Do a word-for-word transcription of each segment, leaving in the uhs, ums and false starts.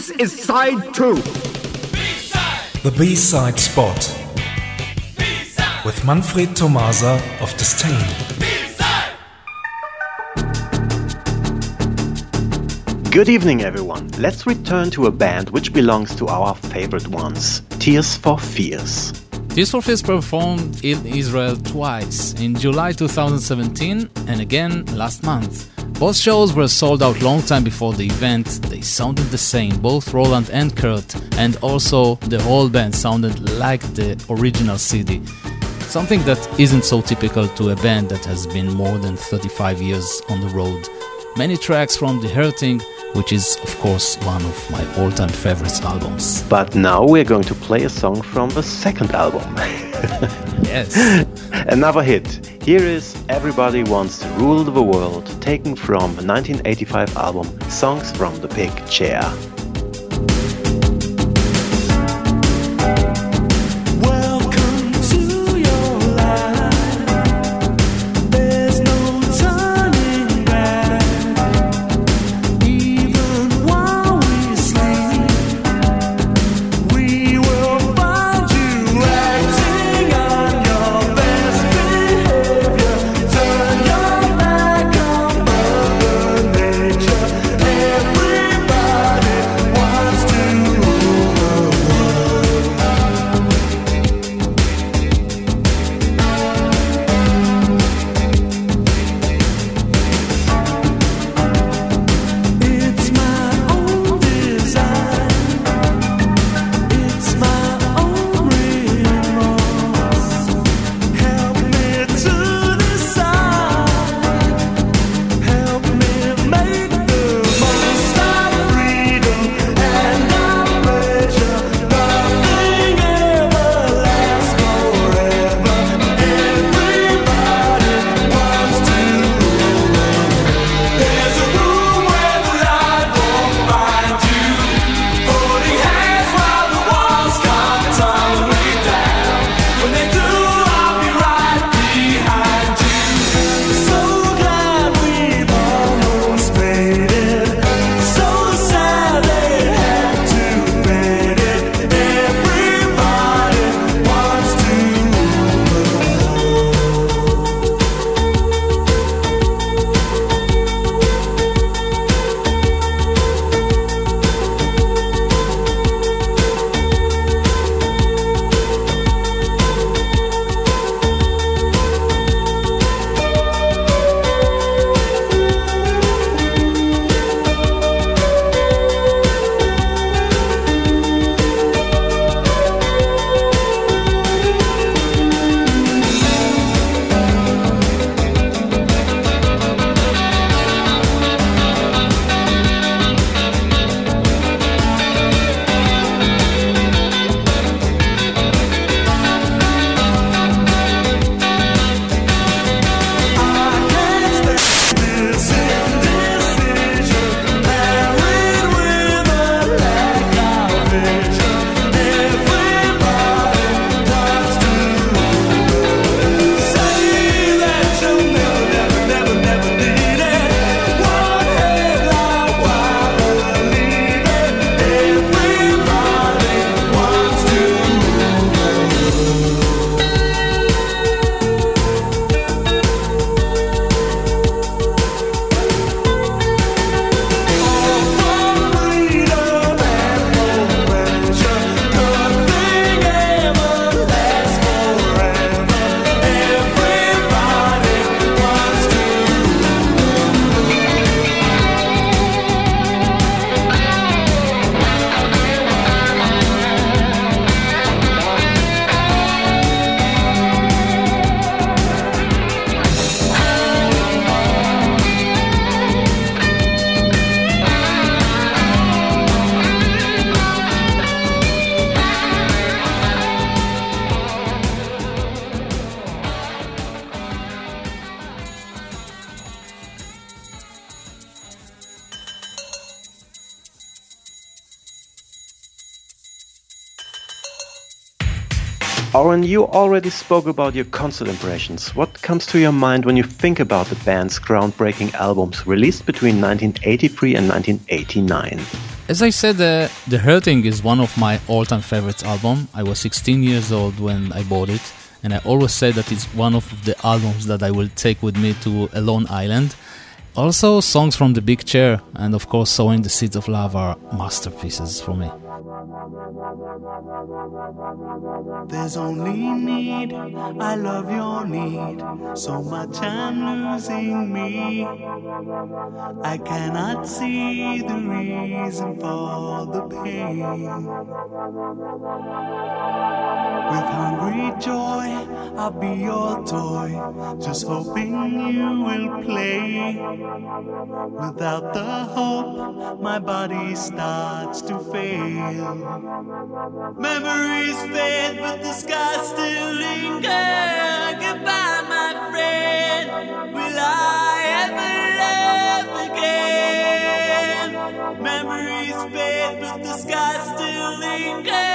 This is side two. B-side. The B-side spot. B-side. With Manfred Tomasa of Disdain. Good evening, everyone. Let's return to a band which belongs to our favorite ones, Tears for Fears. Tears for Fears performed in Israel twice, in July twenty seventeen and again last month. Both shows were sold out long time before the event. They sounded the same, both Roland and Kurt, and also the whole band sounded like the original C D. Something that isn't so typical to a band that has been more than thirty-five years on the road. Many tracks from The Hurting, which is, of course, one of my all-time favorites albums. But now we're going to play a song from the second album. Yes. Another hit. Here is Everybody Wants to Rule the World, taken from the nineteen eighty-five album Songs from the Big Chair. Oren, you already spoke about your concert impressions. What comes to your mind when you think about the band's groundbreaking albums released between nineteen eighty-three and nineteen eighty-nine? As I said, uh, The Hurting is one of my all-time favorites album. I was sixteen years old when I bought it, and I always say that it's one of the albums that I will take with me to a lone island. Also, songs from The Big Chair and of course Sowing the Seeds of Love are masterpieces for me. There's only need, I love your need, so much I'm losing me. I cannot see the reason for the pain. With hungry joy, I'll be your toy, just hoping you will play. Without the hope, my body starts to fail. Memories fade, but the skies still linger. Goodbye, my friend. Will I ever love again? Memories fade, but the skies still linger.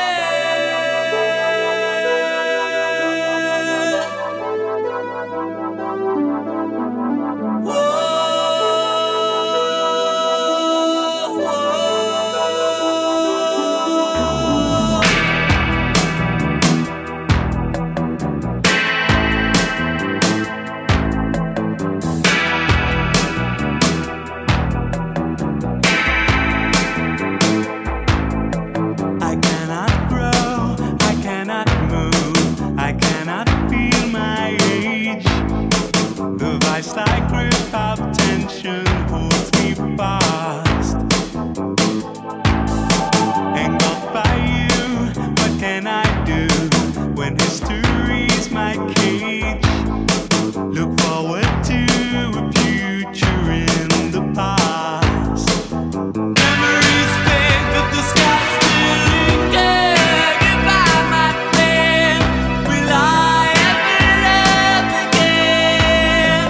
Like grip of tension holds me fast. Engulfed by you, what can I do when history's my cage? Look forward to a future in the past. Memories fade, but the sky still linger. Goodbye, my friend. Will I ever love again?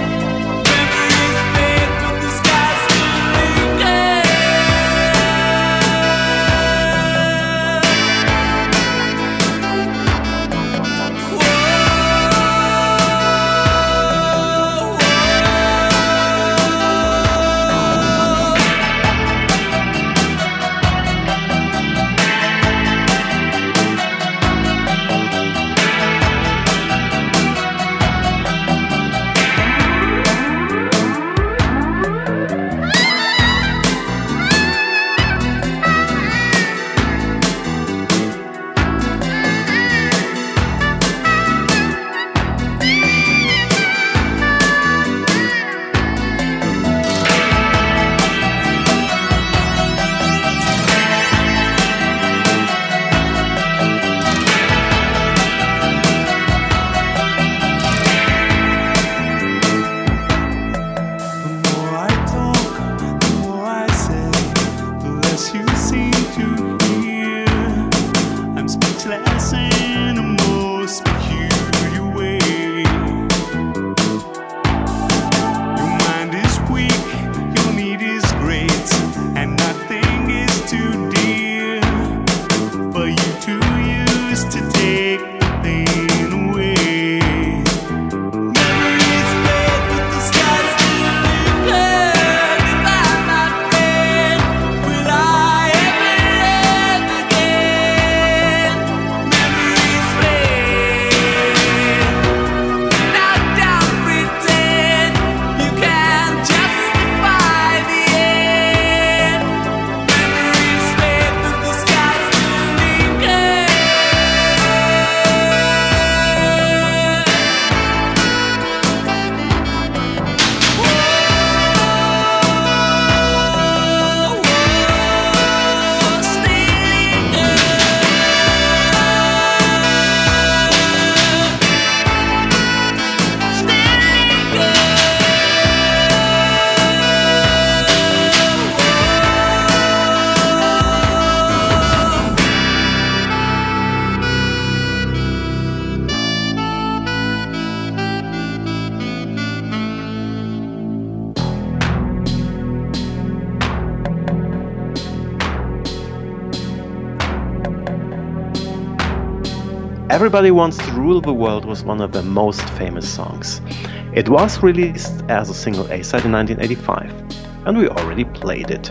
Everybody Wants to Rule the World was one of their most famous songs. It was released as a single A-side in nineteen eighty-five, and we already played it.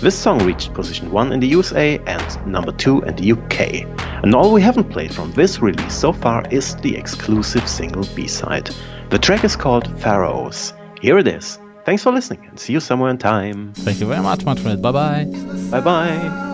This song reached position one in the U S A and number two in the U K. And all we haven't played from this release so far is the exclusive single B-side. The track is called Pharaohs. Here it is. Thanks for listening and see you somewhere in time. Thank you very much, Manfred. Bye-bye. Bye-bye.